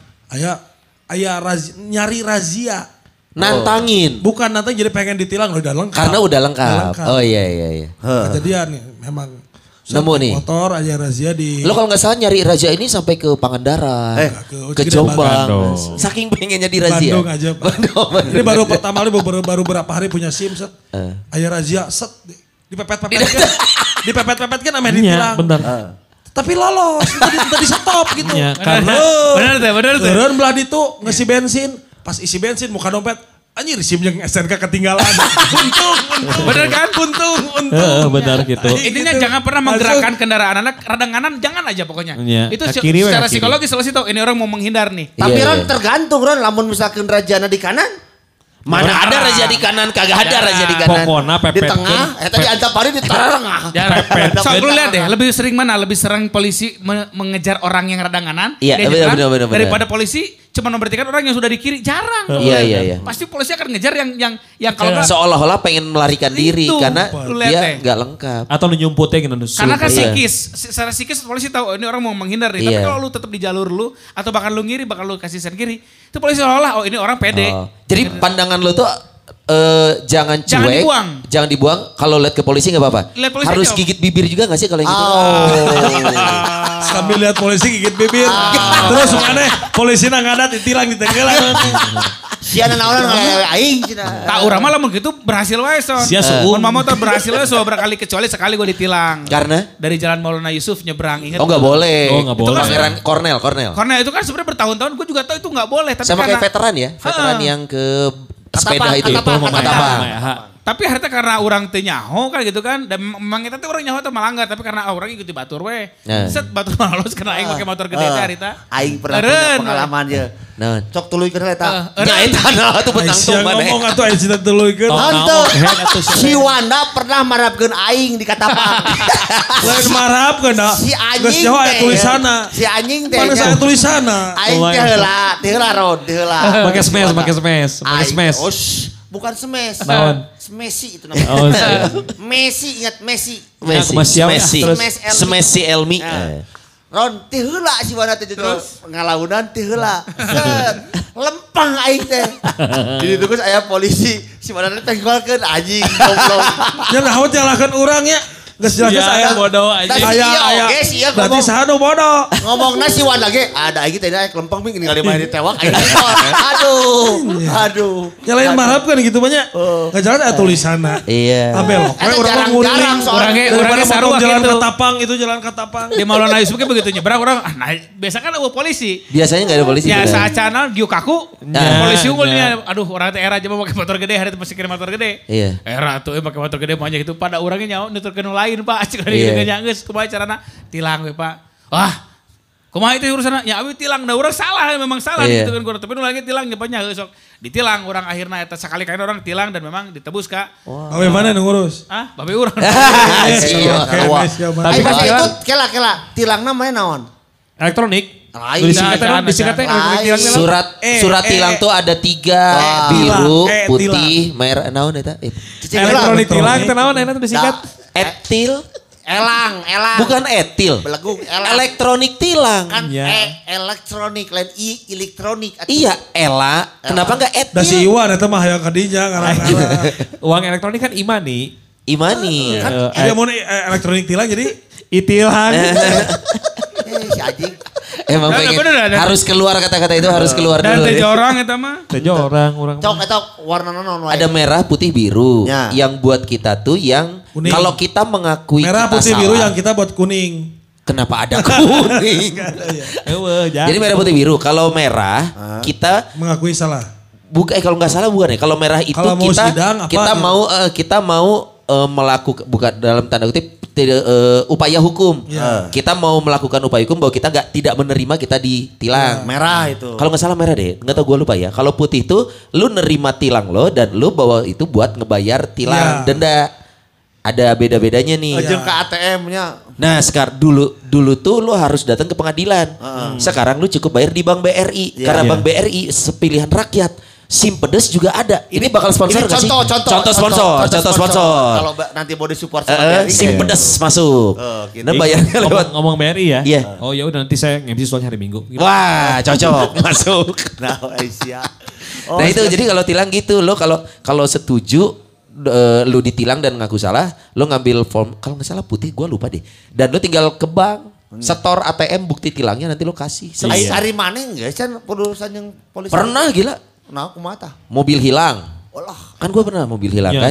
Aya nyari razia. Nantangin. Bukan nanti jadi pengen ditilang udah lengkap. Karena udah lengkap. Oh iya. Kejadian nih memang. Nemu naik nih. Motor aja razia di. Lo kalau nggak salah nyari razia ini sampai ke Pangandaran, ke Gede Jombang. Bandung. Saking pengennya di razia. Bandung aja Pak. Bandung. Ini baru pertama kali baru berapa hari punya SIM set. Aya razia set dipepet-pepet kan. Dipepet-pepet kan ame Iya, ditilang. benar. Tapi lolos, tadi stop gitu. Iya, karena Benar tuh. Turun belah itu ngisi bensin, pas isi bensin muka dompet, anjir SIM yang STNK ketinggalan. untung. Bener kan? Untung. benar gitu. Intinya jangan pernah menggerakkan kendaraan anak radang kanan, jangan aja pokoknya. Iya, Itu ke kiri we, secara ke kiri. psikologis selalu tahu ini orang mau menghindar nih. Tapi Iya, Ron iya. tergantung Ron lamun misalkan rajana di kanan. Mana ada razia di kanan, kagak ada razia di kanan. Pokoknya Di pepet. tengah, eta di antapari di tengah. Jangan. So, lu lihat deh, lebih sering mana? Lebih sering polisi mengejar orang yang radang kanan Iya, dia nyerang, benar. daripada polisi cuma memberhentikan orang yang sudah di kiri. Jarang. Iya. Pasti polisi akan ngejar yang kalau nggak Seolah-olah pengen melarikan diri Itu, karena lu lihat dia deh. nggak lengkap. Atau lu nyumputnya gitu. karena kan Iya. psikis, secara psikis polisi tahu oh, ini orang mau menghindar nih. Tapi Iya. kalau lu tetap di jalur lu atau bahkan lu ngiri, bakal lu kasih sen kiri, itu polisi seolah-olah oh ini orang pede. Oh. Jadi pandangan lo tuh jangan cuek, Jangan dibuang. jangan dibuang. Kalau lihat ke polisi nggak apa-apa. Lihat polisi Harus aja. gigit bibir juga nggak sih kalau yang gitu? Sambil lihat polisi gigit bibir. Terus mana polisi nang ngadat ditilang di tenggelam. Siana naonan ngalewe aing cenah. Tak urang mah lamun gitu berhasil wae son. Sia suung. Mun motor berhasil wae so berkali kecuali sekali gue ditilang. Karena? Dari Jalan Maulana Yusuf nyebrang ingat. Oh nggak boleh. Oh, nggak boleh. Pangeran Kornel. Karena itu kan sebenarnya bertahun-tahun gue juga tahu itu nggak boleh. Tapi Sama karena, kayak veteran ya, veteran yang ke sepeda itu. Katapang. Katapang. Tapi Tapi harta karena orang teu nyaho kan gitu kan. Dan memang kita tuh orang nyaho teh malanggar. Tapi karena orang ikuti batur we. Set batur malos kena aing pakai motor gede teh harita. Aing pernah punya pengalaman je. Nah, Cok tuluykeun eta. nya eta nah tuh petang tuh mana. Ngomong atuh aing cinta tuluykeun. Henteu. Si Wanda pernah marapkeun aing di Katapang. Lain marapkeun da. Si Geus anjing nyaho aya tulisanna. Si anjing teh. Mana saya tulisanna? Aing teh heula Rod, heula. Pakai smash. Bukan smash. Naon? Messi itu namanya. Oh, Messi, ingat Messi. Messi Elmi. Ron, teh heula si Wanda teh terus ngalaunan teh heula. Lempang aing teh. Jadi terus aya polisi, si Wanda teh tenggolkeun anjing goblok. Nya naon nyalahkeun urang nya. Geus jelas aya bodoh aja. Aya. Berarti saha nu bodoh. Ngomongna si Wanda ge, ada aing teh lempeng ming ningali main ditewak aing. Aduh. Nyalain marapkeun gitu banyak. Enggak jalan ada tulisanna. Iya. Abel, urang jarang Orangnya sarua jalan gitu. Katapang itu jalan Katapang. Di Maulana Yusuf begitu nyebrang orang, biasa kan ada polisi. Biasanya enggak ada polisi. Ya bener. saacana giu kaku, polisi unggulnya, aduh orang teh era aja mau pakai motor gede, hari itu masih kirim motor gede. Iya. Era tuh pakai motor gede banyak itu pada orangnya nyawa nuturkeun lain Pak, cik Iya. ada geus kumaha carana tilang we Pak. Wah, kumaha itu urusanna? Ya abi tilang da urang salah memang salah Iya. gitu kan tapi nu lagi tilang nyepanya sok. Ditilang orang akhirnya eta sakali kali orang tilang dan memang ditebus Kak. Awe mana nu ngurus? Ah, babe urang. Tapi pas itu kela tilangna mana naon? Elektronik. Lain. Disingkatnya Surat tilang tuh ada 3, biru, putih, merah, naon eta? Elektronik tilang teh naon eta disingkat? Etil. Elang. Bukan etil. Belegu elang. Elektronik tilang. Kan Ya. elektronik lain elektronik. Iya, Ela. Kenapa enggak Da si etil? Iwan eta mah hayang ka dinya ngarang-ngarang. Uang elektronik kan imani. Imani. Dia mau elektronik tilang jadi Itilang. Si anjing. Emang Nah, pengen bener, ada. harus keluar kata-kata itu harus keluar Dan dulu. teh ya. jorang eta mah. Tejo orang. Cok eta warna naon wae. Ada merah, putih, biru. Ya. Yang buat kita tuh yang Kuning. kalau kita mengakui merah kita putih salah, biru yang kita buat kuning. kenapa ada kuning? Jadi merah, putih, biru. Kalau merah kita Mengakui salah. kalau nggak salah bukan ya. Kalau merah itu Kalau mau sidang, apa kita ya? kita mau melakukan bukan dalam tanda kutip upaya hukum. Ya. Kita mau melakukan upaya hukum bahwa kita tidak menerima kita ditilang. merah itu. Kalau nggak salah merah deh, nggak tahu gue lupa ya. Kalau putih itu lu nerima tilang lo dan lu bawa itu buat ngebayar tilang Ya. denda. Ada beda-bedanya nih. Jeung ke ATM-nya. Nah sekarang dulu tuh lu harus datang ke pengadilan. Sekarang lu cukup bayar di Bank BRI karena Bank BRI sepilihan rakyat. SIM pedes juga ada. Ini bakal sponsor Ini nggak sih? contoh sponsor. Kalau nanti mau disupport sama BRI. SIM pedes masuk. Gitu. Dan bayarnya lewat. Ngomong BRI ya? Iya. Oh ya udah nanti saya nge-MC soalnya hari Minggu. Wah cocok masuk. Nah, Aisyah. Nah itu jadi kalau tilang gitu lo kalau setuju lu ditilang dan ngaku salah, lo ngambil form kalau nggak salah putih, gue lupa deh. Dan lo tinggal ke bank, setor ATM bukti tilangnya nanti lo kasih. Ai hari mana enggak kan urusan yang polisi. Pernah gila, Nah, aku mata. mobil hilang. Olah. Kan gue pernah mobil hilang Ya, kan.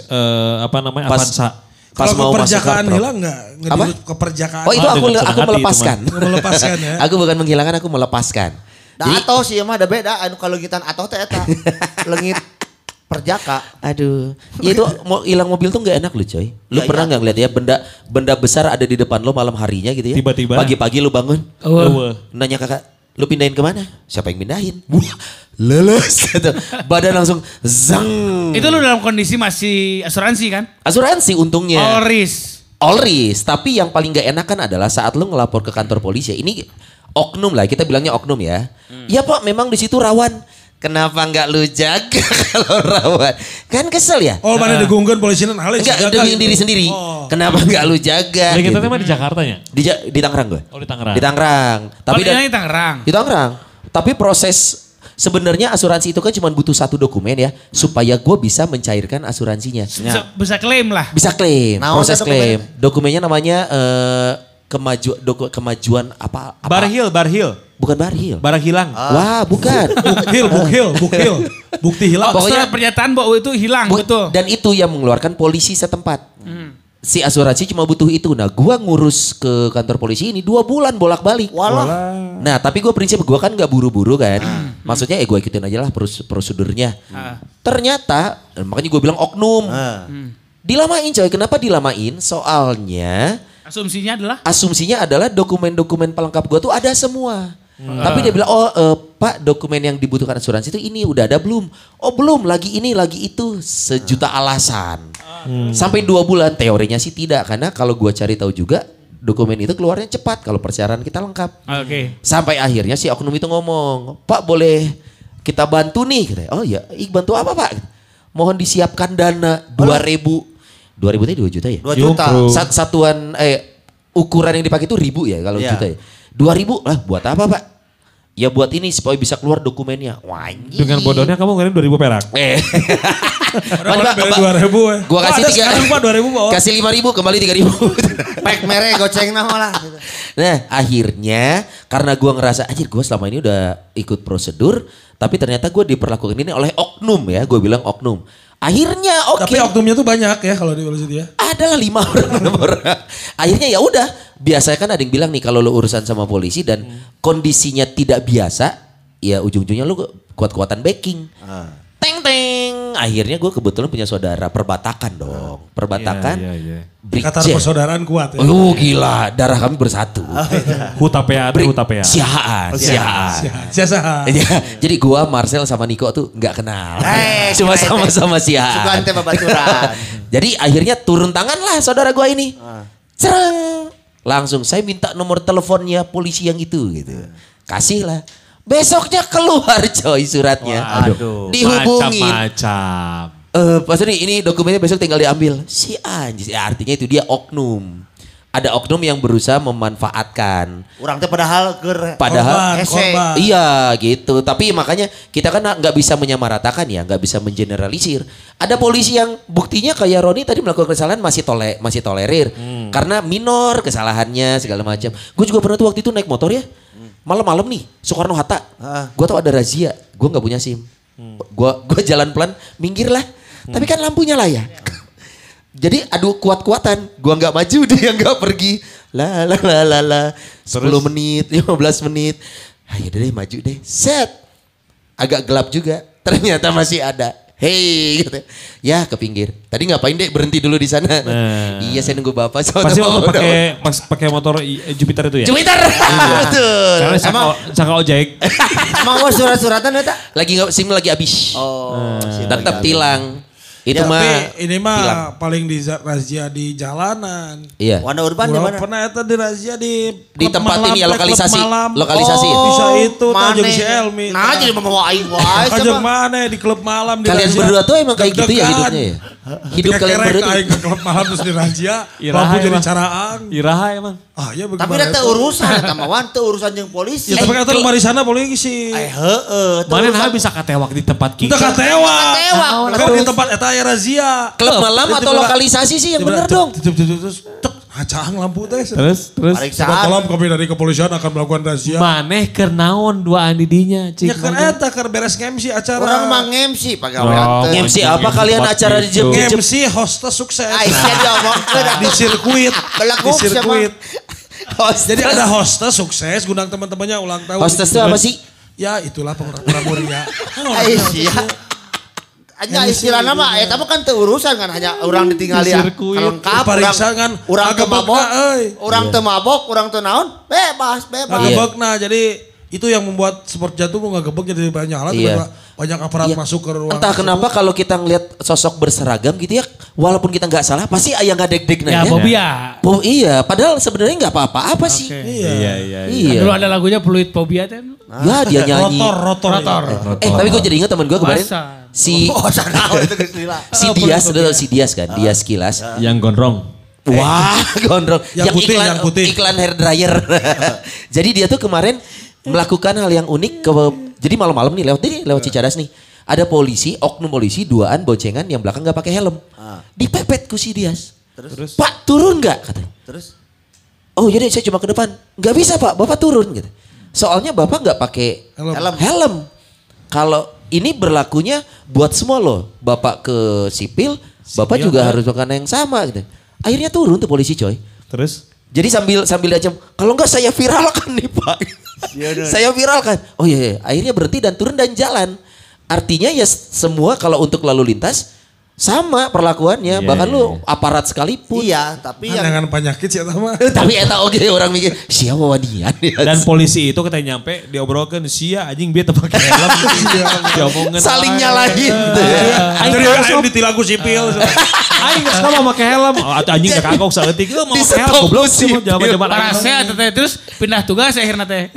apa namanya Pas- Avanza. Pas Kalau mau masuk keperjakaan kartu. hilang enggak? Apa? Keperjakaan. Oh itu Ah, aku dengan senang hati, melepaskan. Melepaskan ya. Aku bukan menghilangkan, aku melepaskan. Da atau sih mah ada beda anu kalau gitan atau teh eta. Leungit perjaka. Aduh, ya itu mau hilang mobil tuh nggak enak lu coy. Lu Ya, pernah iya. nggak ngeliat ya benda besar ada di depan lo malam harinya gitu ya? Tiba-tiba. Pagi-pagi lu bangun, nanya kakak, lu pindahin kemana? Siapa yang pindahin? Wah, leles gitu. Badan langsung zang. Itu lu dalam kondisi masih asuransi kan? Asuransi untungnya. All risk. All risk, tapi yang paling gak enakan adalah saat lu ngelapor ke kantor polisi. Ini oknum lah, kita bilangnya oknum ya. Ya Pak, memang di situ rawan. Kenapa nggak lu jaga kalau rawan? Kan kesel ya? Oh mana digungkeun polisi nan halus. Enggak, demi diri sendiri. Oh. Kenapa nggak lu jaga? Jadi kita gitu. mah di Jakarta ya? Di Tangerang gue. Oh di Tangerang. Di Tangerang. Tapi Tapi di Tangerang. di Tangerang. Tapi proses sebenarnya asuransi itu kan cuma butuh satu dokumen ya supaya gue bisa mencairkan asuransinya. Bisa klaim lah. Bisa klaim, Nah, proses ada klaim. Dokumennya namanya kemajuan apa? Barhil. Bukan barhil. Barang hilang. Wah, bukan. Bukil. Bukti hilang. Pokoknya pernyataan bahwa itu hilang Bu- betul. Dan itu yang mengeluarkan polisi setempat. si asuransi cuma butuh itu. Nah gua ngurus ke kantor polisi ini 2 bulan bolak-balik. Walah. Nah tapi gue prinsip gue kan gak buru-buru kan. Maksudnya gue ikutin aja lah prosedurnya. Ternyata makanya gue bilang oknum. Dilamain coy. Kenapa dilamain? Soalnya asumsinya adalah dokumen-dokumen pelengkap gue tuh ada semua. Tapi dia bilang Pak dokumen yang dibutuhkan asuransi itu ini udah ada belum? Oh belum, lagi ini lagi itu. Sejuta alasan. Sampai 2 bulan teorinya sih tidak. Karena kalau gue cari tahu juga dokumen itu keluarnya cepat kalau persyaratan kita lengkap. Sampai akhirnya si oknum itu ngomong, Pak boleh kita bantu nih. Katanya, oh ya, bantu apa Pak? Mohon disiapkan dana 2.000. 2.000 itu 2 juta ya? 2 juta. Satuan ukuran yang dipakai itu ribu ya kalau juta ya. 2.000 lah buat apa Pak? Ya buat ini supaya bisa keluar dokumennya. Wah, dengan bodohnya kamu ngirim 2.000 perak. Gua kasih 3.000 kasih 5.000 kembali 3.000. Pek mere goceng nah malah. Nah akhirnya karena gua ngerasa anjir gua selama ini udah ikut prosedur. Tapi ternyata gua diperlakukan ini oleh oknum ya. Gua bilang oknum. Akhirnya oke. Tapi oknumnya tuh banyak ya kalau di polisi dia. Adalah 5 orang. Akhirnya ya udah. Biasanya kan ada yang bilang nih kalau lo urusan sama polisi dan kondisinya tidak biasa. Ya ujung-ujungnya lo kuat-kuatan backing. Teng teng. Akhirnya gue kebetulan punya saudara perbatakan dong. Perbatakan. Kata persaudaraan kuat ya. Oh gila darah kami bersatu. Hutapea. Siaan. Jadi gue Marcel sama Niko tuh gak kenal. Cuma sama-sama siaan. Sugante babaturan. Jadi akhirnya turun tangan lah saudara gue ini. Cereng. Langsung saya minta nomor teleponnya polisi yang itu gitu. Kasih lah. Besoknya keluar coy suratnya. Waduh. Dihubungin. Macam-macam. Pas ini dokumennya besok tinggal diambil. Si anjir. Ya, artinya itu dia oknum. Ada oknum yang berusaha memanfaatkan. Orang teh padahal Padahal korban. Iya gitu. Tapi makanya kita kan nggak bisa menyamaratakan ya, nggak bisa mengeneralisir. Ada polisi yang buktinya kayak Roni tadi melakukan kesalahan masih tolerir karena minor kesalahannya segala macam. Gue juga pernah tuh waktu itu naik motor ya, malam-malam nih Soekarno Hatta. Gue tahu ada razia, gue nggak punya SIM. Gue jalan pelan, minggir lah. Tapi kan lampunya lah ya. Jadi adu kuat-kuatan, gua nggak maju dia nggak pergi. La 10 menit, 15 menit. Ayo deh maju deh. Set. Agak gelap juga. Ternyata masih ada. Hei gitu. Ya ke pinggir. Tadi ngapain deh berhenti dulu di sana. Iya saya nunggu bapak. Pasti pakai motor Jupiter itu ya? Jupiter. Betul. Karena sangka ojek. Emang gua surat-suratan eta? SIM lagi habis. Oh. Tetap tilang. Itu Ya, mah tapi ini mah tilang. paling di razia di jalanan. Iya. Warna urban di Urang mana? pernah eta di razia di tempat malam, ini ya, klub lokalisasi. malam. Lokalisasi ya? Bisa itu Mane. tajung si Elmi. Nah jadi mau aing wae Ajeng sama. mana di klub malam di Kalian razia. berdua tuh emang kayak gitu ya Deg-degan. hidupnya ya? Hidup Ketika kalian kerek berdua tuh. aing ke klub malam terus di razia. Iraha Lampu jadi emang. caraan. Iraha emang. Ah ya Tapi bagaimana? ada urusan eta mah wan teu urusan jeung polisi. Ya tapi kata lu mari sana polisi. Heeh. Mana nah bisa katewak di tempat kita. Kita katewa. Katewak. Kan di tempat eta aya razia. Klub malam atau lokalisasi sih yang bener dong. Terus cek hacang lampu teh. Terus. Sebat tolong kami dari kepolisian akan melakukan razia. Maneh keur naon duaan didinya cik. Ya kan eta keur beres MC acara. Orang mah MC pagawean Oh, teh. MC apa kalian acara di jam MC hostess sukses. Ai sia diomongkeun Di sirkuit. Belakuk Di sirkuit. Hostess. Jadi ada hostess sukses gundang teman-temannya ulang tahun. Hostess itu apa sih? Ya itulah pengurang muria. Ai sia. Hanya istilahnya mah eta mah kan teu urusan kan hanya orang ditinggali ya. Sirkuit. Lengkap Pariksa kan urang teu agebegna, mabok. euy. Urang teu mabok, urang teu naon, bebas. Ngagebegna jadi itu yang membuat sport jantung ngagebeg jadi banyak hal. Iya. Banyak aparat Iya. masuk ke ruang. Entah kenapa kalau kita ngelihat sosok berseragam gitu ya, walaupun kita nggak salah, pasti aya nggak deg-deg Ya nanya. fobia. Oh iya, padahal sebenarnya nggak apa-apa sih. Iya. Iya. Dulu ada lagunya Fluid Phobia teh. Ya dia nyanyi. Rotor. Tapi gue jadi ingat teman gue kemarin. Masa? Si Oh, sanau itu geus lila. Dias, udah tau si Dias kan, Dias Kilas. Yang gondrong. Wah, gondrong. Yang putih. Iklan hair dryer. Jadi dia tuh kemarin melakukan hal yang unik jadi malam-malam nih lewat Cicadas nih. Ada polisi, oknum polisi duaan boncengan yang belakang nggak pakai helm. Dipepet ku si Dias. Terus? Pak turun nggak katanya. Terus? Oh jadi saya cuma ke depan. Nggak bisa Pak, Bapak turun gitu. Soalnya Bapak nggak pakai helm. Kalau ini berlakunya buat semua loh. Bapak ke sipil, Bapak juga harus melakukan yang sama gitu. Akhirnya turun tuh polisi coy. Terus? Jadi sambil aja, kalau enggak saya viralkan nih Pak. Saya viralkan. Oh iya, akhirnya berhenti dan turun dan jalan. Artinya ya semua kalau untuk lalu lintas sama perlakuannya, bahkan lu aparat sekalipun. Iya, tapi yang Jangan penyakit sih mah. Tapi eta oke orang mikir, siapa wadian ya. Dan polisi itu kita nyampe diobrolkan sia anjing dia teu pakai helm. Diomongkeun Saling nyalahin. Jadi aing ditilang ku sipil. Aing geus sama make helm. Atuh anjing teh kagok saeutik mau make helm Di-stop goblok sih. sih jaman-jaman Parasnya teh terus pindah tugas akhirnya teh.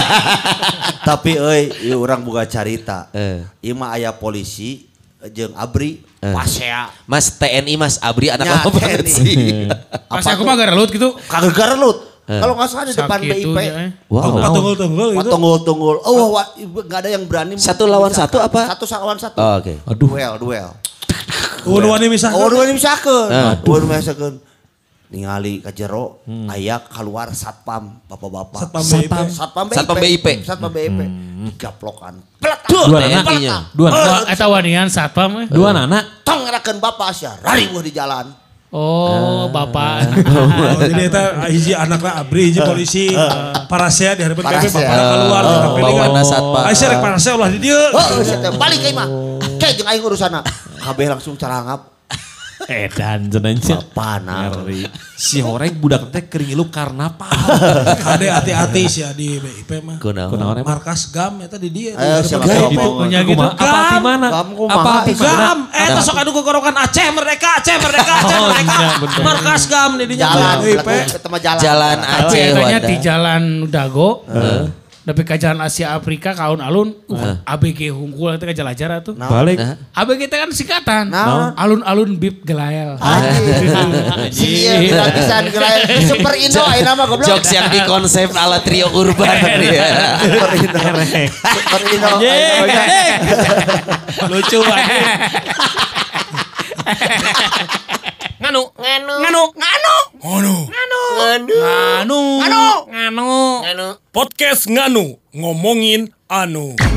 tapi ieu urang boga carita. Ieu mah aya polisi jeung abri pasea. Mas TNI Mas Abri anak Ya, lama banget TNI. sih. Pas aku mah gerelut gitu. Kagak garelut. Kalau nggak salah di depan Sakit tuh BIP. ya. Wow. Tunggul-tunggul gitu. Tunggul. Oh, nggak ada yang berani. Satu lawan satu apa? Satu lawan satu. Oh, oke. Duel. Unuan misalkan. Oh, dua misalkan. Dua misalkan. Ningali ka jero aya keluar satpam bapak-bapak. Satpam BIP. Satpam BIP. Digaplokan. Dua anak. Dua anak. Eta wanian satpam. Dua anak. Tong ngerakeun bapak sia rariweuh di jalan. Oh, bapak. Oh, jadi eta hiji anakna abri, hiji polisi. Parasea di hadapan BP Parasea. bapak keluar. Bawaana satpam. Aisyah rek parasea ulah di dieu. Oh, sia teh balik ka imah. Kayak jeung aing urusana. Kabeh langsung carangap. Edan cenanya. Bapana. Si horeng budak teh kering ilu karnaval. Kade hati-hati sih di BIP mah. Kunaon? Markas GAM eta di dia. Siapa Di tahu hadapan mau punya gitu. Apa di mana? Kamu Apa di mana? GAM, eta sok anu kegorokan Aceh merdeka. Markas GAM di dinya. jalan, BIP. ketemu jalan. Jalan Aceh Katanya wadah. di Jalan Dago. Tapi ke Jalan Asia Afrika kaun alun. ABG Hungkul itu ke Jalajara tuh. Balik. ABG itu kan singkatan. Naon? Alun-alun Bib Gelael. Iya, gratisan gerai. Super Indo ayeuna mah goblok. Jokes yang dikonsep ala trio urban. Ya. Super Indo. Lucu banget. Nganu. Podcast Nganu ngomongin anu.